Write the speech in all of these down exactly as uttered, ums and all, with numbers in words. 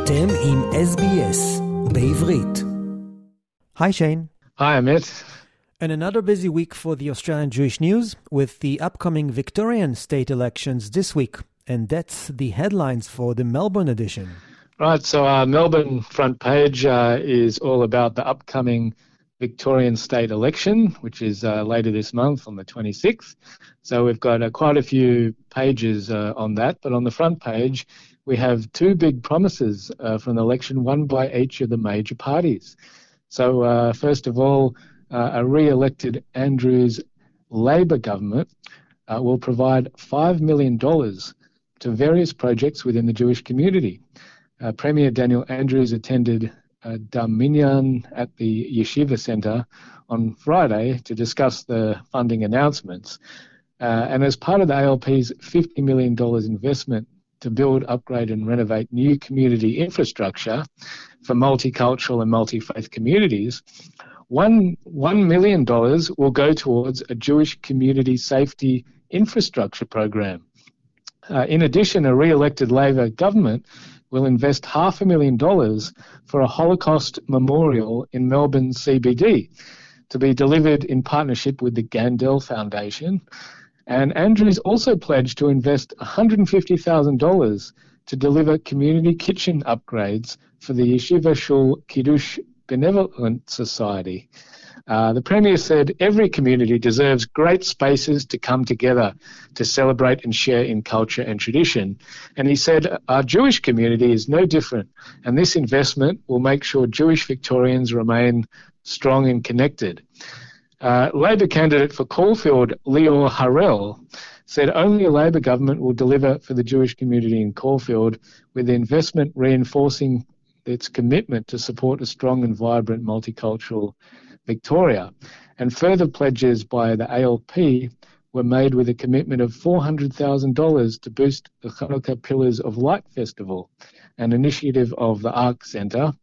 אתם עם S B S בעברית. Hi Shane. Hi Amit. And another busy week for the Australian Jewish news with the upcoming Victorian state elections this week. And that's the headlines for the Melbourne edition. Right, so our Melbourne front page uh, is all about the upcoming Victorian state election, which is uh, later this month on the twenty-sixth. So we've got uh, quite a few pages uh, on that, but on the front page we have two big promises uh, from the election, one by each of the major parties. So uh, first of all, uh, a re-elected Andrews Labor government uh, will provide five million dollars to various projects within the Jewish community. Uh, Premier Daniel Andrews attended uh, Darminyan at the Yeshiva Centre on Friday to discuss the funding announcements. Uh, and as part of the A L P's fifty million dollars investment to build, upgrade and renovate new community infrastructure for multicultural and multi-faith communities, one, one million dollars will go towards a Jewish community safety infrastructure program. Uh, in addition, a re-elected Labor government will invest half a million dollars for a Holocaust memorial in Melbourne C B D to be delivered in partnership with the Gandel Foundation. And Andrews also pledged to invest one hundred fifty thousand dollars to deliver community kitchen upgrades for the Yeshiva Shul Kiddush Benevolent Society. Uh, the Premier said every community deserves great spaces to come together to celebrate and share in culture and tradition. And he said our Jewish community is no different, and this investment will make sure Jewish Victorians remain strong and connected. Uh, Labor candidate for Caulfield, Lior Harel, said only a Labor government will deliver for the Jewish community in Caulfield, with the investment reinforcing its commitment to support a strong and vibrant multicultural Victoria. And further pledges by the A L P were made with a commitment of four hundred thousand dollars to boost the Hanukkah Pillars of Light Festival, an initiative of the Ark Centre.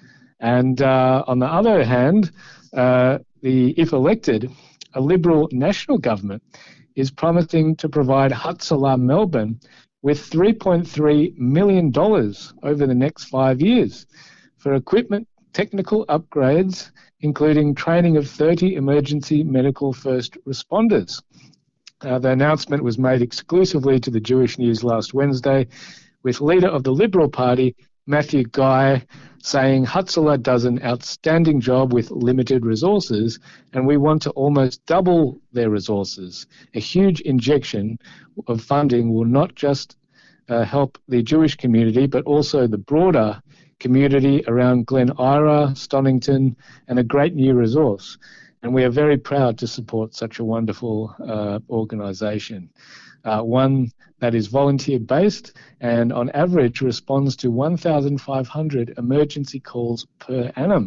And uh, on the other hand, uh, the, if elected, a Liberal national government is promising to provide Hatzalah Melbourne with three point three million dollars over the next five years for equipment, technical upgrades, including training of thirty emergency medical first responders. Uh, the announcement was made exclusively to the Jewish News last Wednesday, with leader of the Liberal Party, Matthew Guy, saying Hatzalah does an outstanding job with limited resources, and we want to almost double their resources. A huge injection of funding will not just uh, help the Jewish community, but also the broader community around Glen Ira, Stonington, and a great new resource. And we are very proud to support such a wonderful uh, organisation. Uh, one that is volunteer-based and on average responds to one thousand five hundred emergency calls per annum.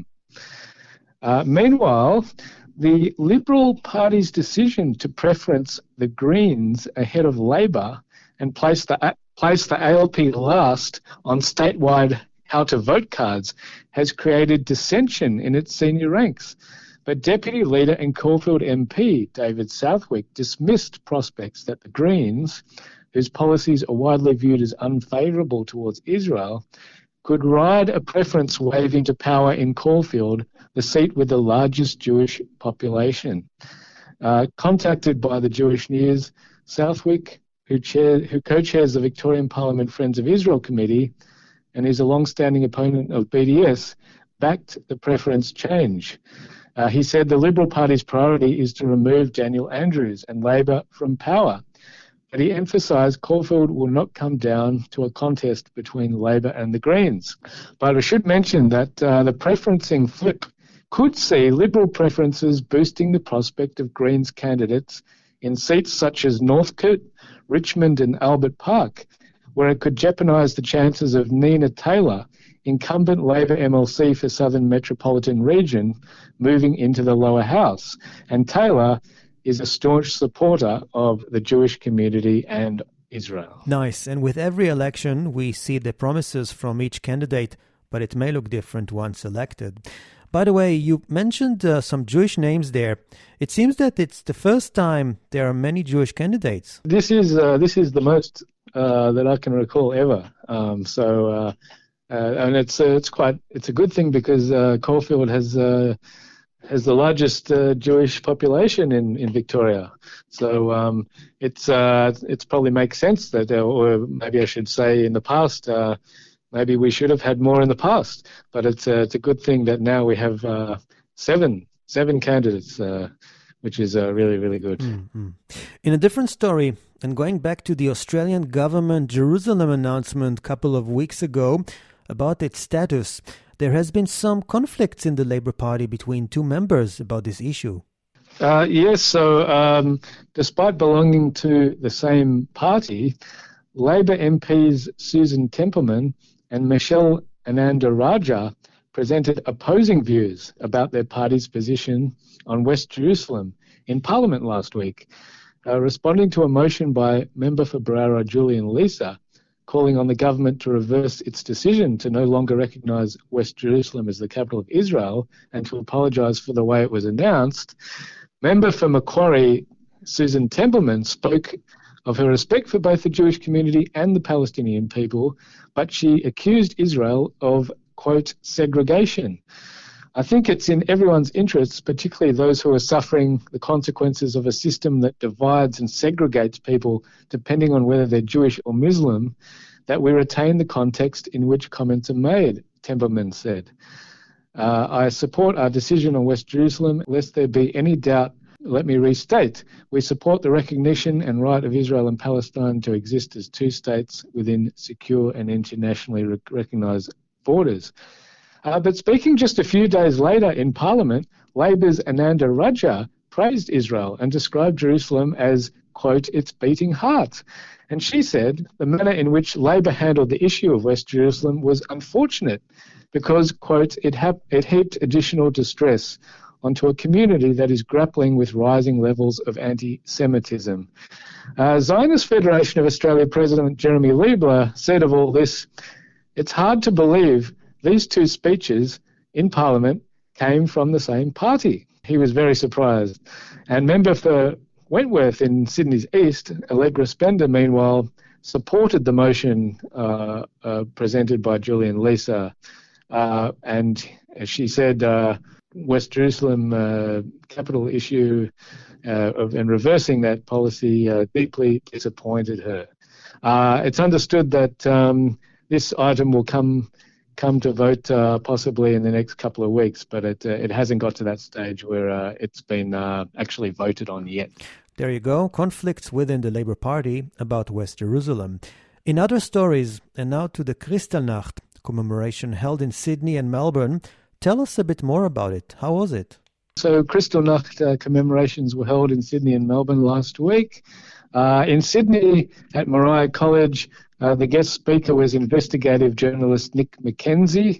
Uh, meanwhile, the Liberal Party's decision to preference the Greens ahead of Labor and place the, uh, place the A L P last on statewide how-to-vote cards has created dissension in its senior ranks. But Deputy Leader and Caulfield M P David Southwick dismissed prospects that the Greens, whose policies are widely viewed as unfavourable towards Israel, could ride a preference wave into power in Caulfield, the seat with the largest Jewish population. Uh, contacted by the Jewish News, Southwick, who, chair, who co-chairs the Victorian Parliament Friends of Israel Committee and is a long-standing opponent of B D S, backed the preference change. Uh, he said the Liberal Party's priority is to remove Daniel Andrews and Labor from power, but he emphasised Caulfield will not come down to a contest between Labor and the Greens. But I should mention that uh, the preferencing flip could see Liberal preferences boosting the prospect of Greens candidates in seats such as Northcote, Richmond and Albert Park, where it could jeopardise the chances of Nina Taylor, incumbent Labor M L C for Southern Metropolitan Region, moving into the lower house. And Taylor is a staunch supporter of the Jewish community and Israel. Nice. And with every election, we see the promises from each candidate, but it may look different once elected. By the way, you mentioned uh, some Jewish names there. It seems that it's the first time there are many Jewish candidates. This is uh, this is the most uh, that I can recall ever. Um, so uh, Uh, and it's uh, it's quite it's a good thing because uh, Caulfield has uh, has the largest uh, Jewish population in, in Victoria, so um, it's uh, it's probably makes sense that, uh, or maybe I should say, in the past, uh, maybe we should have had more in the past. But it's uh, it's a good thing that now we have uh, seven seven candidates, uh, which is uh, really really good. Mm-hmm. In a different story, and going back to the Australian government Jerusalem announcement a couple of weeks ago about its status, there has been some conflicts in the Labour Party between two members about this issue. Uh, yes, so um, despite belonging to the same party, Labour M Ps Susan Templeman and Michelle Ananda-Rajah presented opposing views about their party's position on West Jerusalem in Parliament last week, uh, responding to a motion by Member for Berowra Julian Leeser, calling on the government to reverse its decision to no longer recognise West Jerusalem as the capital of Israel and to apologise for the way it was announced. Member for Macquarie, Susan Templeman, spoke of her respect for both the Jewish community and the Palestinian people, but she accused Israel of, quote, segregation. I think it's in everyone's interests, particularly those who are suffering the consequences of a system that divides and segregates people depending on whether they're Jewish or Muslim, that we retain the context in which comments are made, Templeman said. Uh, I support our decision on West Jerusalem. Lest there be any doubt, let me restate, we support the recognition and right of Israel and Palestine to exist as two states within secure and internationally rec- recognised borders. Uh, but speaking just a few days later in Parliament, Labour's Ananda-Rajah praised Israel and described Jerusalem as, quote, its beating heart. And she said the manner in which Labour handled the issue of West Jerusalem was unfortunate because, quote, it, ha- it heaped additional distress onto a community that is grappling with rising levels of anti-Semitism. Uh, Zionist Federation of Australia President Jeremy Liebler said of all this, it's hard to believe these two speeches in Parliament came from the same party. He was very surprised. And member for Wentworth in Sydney's East, Allegra Spender, meanwhile, supported the motion uh, uh, presented by Julian Leeser. Uh, and she said uh, West Jerusalem uh, capital issue uh, of, and reversing that policy uh, deeply disappointed her. Uh, it's understood that um, this item will come come to vote uh, possibly in the next couple of weeks, but it uh, it hasn't got to that stage where uh, it's been uh, actually voted on yet. There you go, conflicts within the Labour Party about West Jerusalem. In other stories, and now to the Kristallnacht commemoration held in Sydney and Melbourne, tell us a bit more about it. How was it? So Kristallnacht uh, commemorations were held in Sydney and Melbourne last week. Uh, in Sydney at Moriah College, uh, the guest speaker was investigative journalist Nick McKenzie.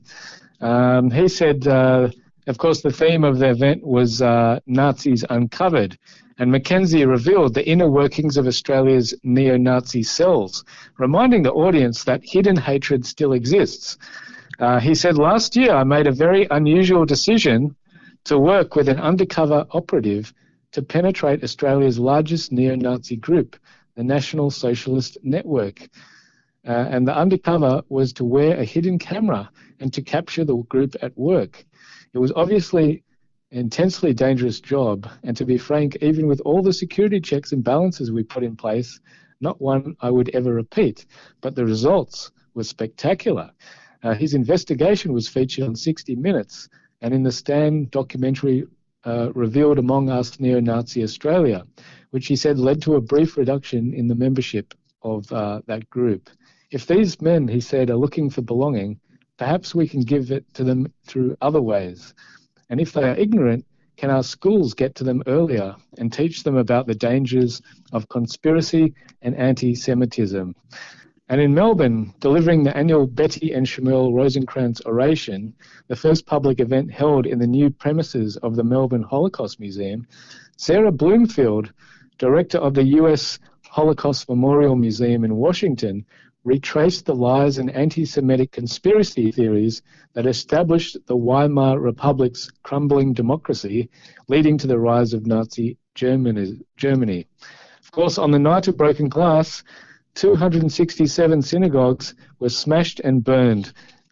Um, he said, uh, of course, the theme of the event was uh, Nazis Uncovered, and McKenzie revealed the inner workings of Australia's neo-Nazi cells, reminding the audience that hidden hatred still exists. Uh, he said, last year I made a very unusual decision to work with an undercover operative to penetrate Australia's largest neo-Nazi group, the National Socialist Network. Uh, and the undercover was to wear a hidden camera and to capture the group at work. It was obviously an intensely dangerous job, and to be frank, even with all the security checks and balances we put in place, not one I would ever repeat. But the results were spectacular. Uh, his investigation was featured on sixty minutes, and in the Stan documentary uh, revealed Among Us Neo-Nazi Australia, which he said led to a brief reduction in the membership of uh, that group. If these men, he said, are looking for belonging, perhaps we can give it to them through other ways. And if they are ignorant, can our schools get to them earlier and teach them about the dangers of conspiracy and anti-Semitism? And in Melbourne, delivering the annual Betty and Shmuel Rosencrantz Oration, the first public event held in the new premises of the Melbourne Holocaust Museum, Sarah Bloomfield, director of the U S Holocaust Memorial Museum in Washington, retraced the lies and anti-Semitic conspiracy theories that established the Weimar Republic's crumbling democracy, leading to the rise of Nazi Germany. Germany. Of course, on the night of broken glass, two hundred sixty-seven synagogues were smashed and burned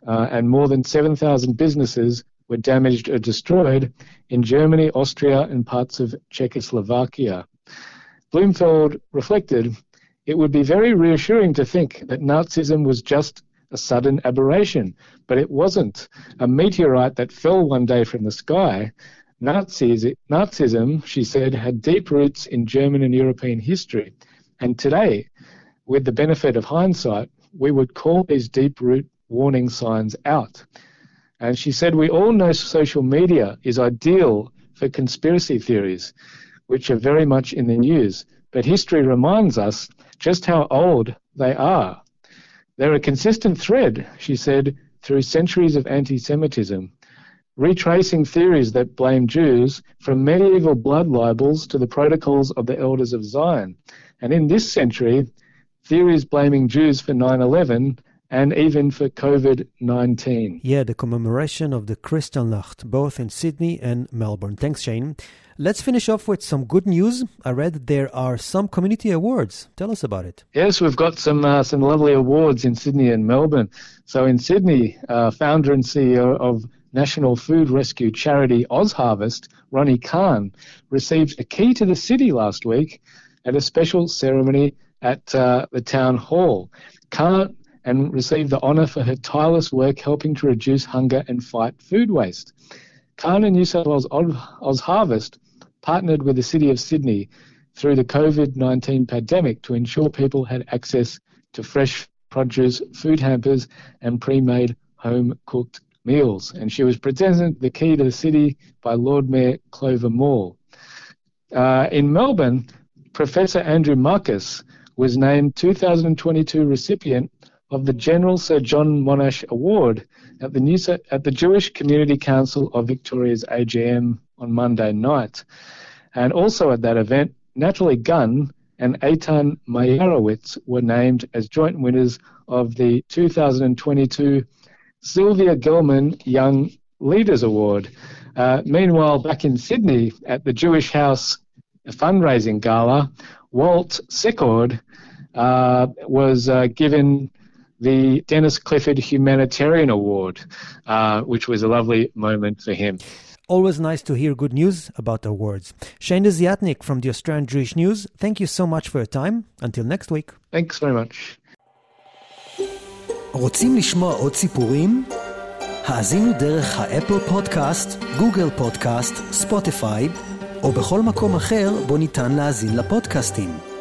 uh, and more than seven thousand businesses were damaged or destroyed in Germany, Austria, and parts of Czechoslovakia. Blumfeld reflected, "It would be very reassuring to think that Nazism was just a sudden aberration, but it wasn't a meteorite that fell one day from the sky. Nazis, Nazism, she said, had deep roots in German and European history, and today, with the benefit of hindsight, we would call these deep root warning signs out." And she said, "We all know social media is ideal for conspiracy theories, which are very much in the news, but history reminds us just how old they are. They're a consistent thread," she said, "through centuries of anti-Semitism, retracing theories that blame Jews from medieval blood libels to the protocols of the Elders of Zion. And in this century, theories blaming Jews for nine eleven and even for covid nineteen. Yeah, the commemoration of the Kristallnacht, both in Sydney and Melbourne. Thanks, Shane. Let's finish off with some good news. I read there are some community awards. Tell us about it. Yes, we've got some uh, some lovely awards in Sydney and Melbourne. So in Sydney, uh, founder and C E O of National Food Rescue charity OzHarvest, Ronnie Khan, received a key to the city last week at a special ceremony at uh, the town hall. Khan and received the honour for her tireless work helping to reduce hunger and fight food waste. Khan and New South Wales OzHarvest partnered with the City of Sydney through the covid nineteen pandemic to ensure people had access to fresh produce, food hampers and pre-made home-cooked meals. And she was presented the key to the city by Lord Mayor Clover Moore. Uh, in Melbourne, Professor Andrew Marcus was named two thousand twenty-two recipient of the General Sir John Monash Award at the, New, at the Jewish Community Council of Victoria's A G M on Monday night. And also at that event, Natalie Gunn and Eitan Meyerowitz were named as joint winners of the two thousand twenty-two Sylvia Gelman Young Leaders Award. Uh, meanwhile, back in Sydney at the Jewish House fundraising gala, Walt Secord uh, was uh, given the Dennis Clifford Humanitarian Award, uh, which was a lovely moment for him. Always nice to hear good news about awards. Shane Desiatnik from the Australian Jewish News, thank you so much for your time. Until next week. Thanks very much. רוצים לשמוע עוד סיפורים? האזינו דרך האפל פודקאסט, גוגל פודקאסט, ספוטיפיי, או בכל מקום אחר בו ניתן להאזין לפודקאסטים.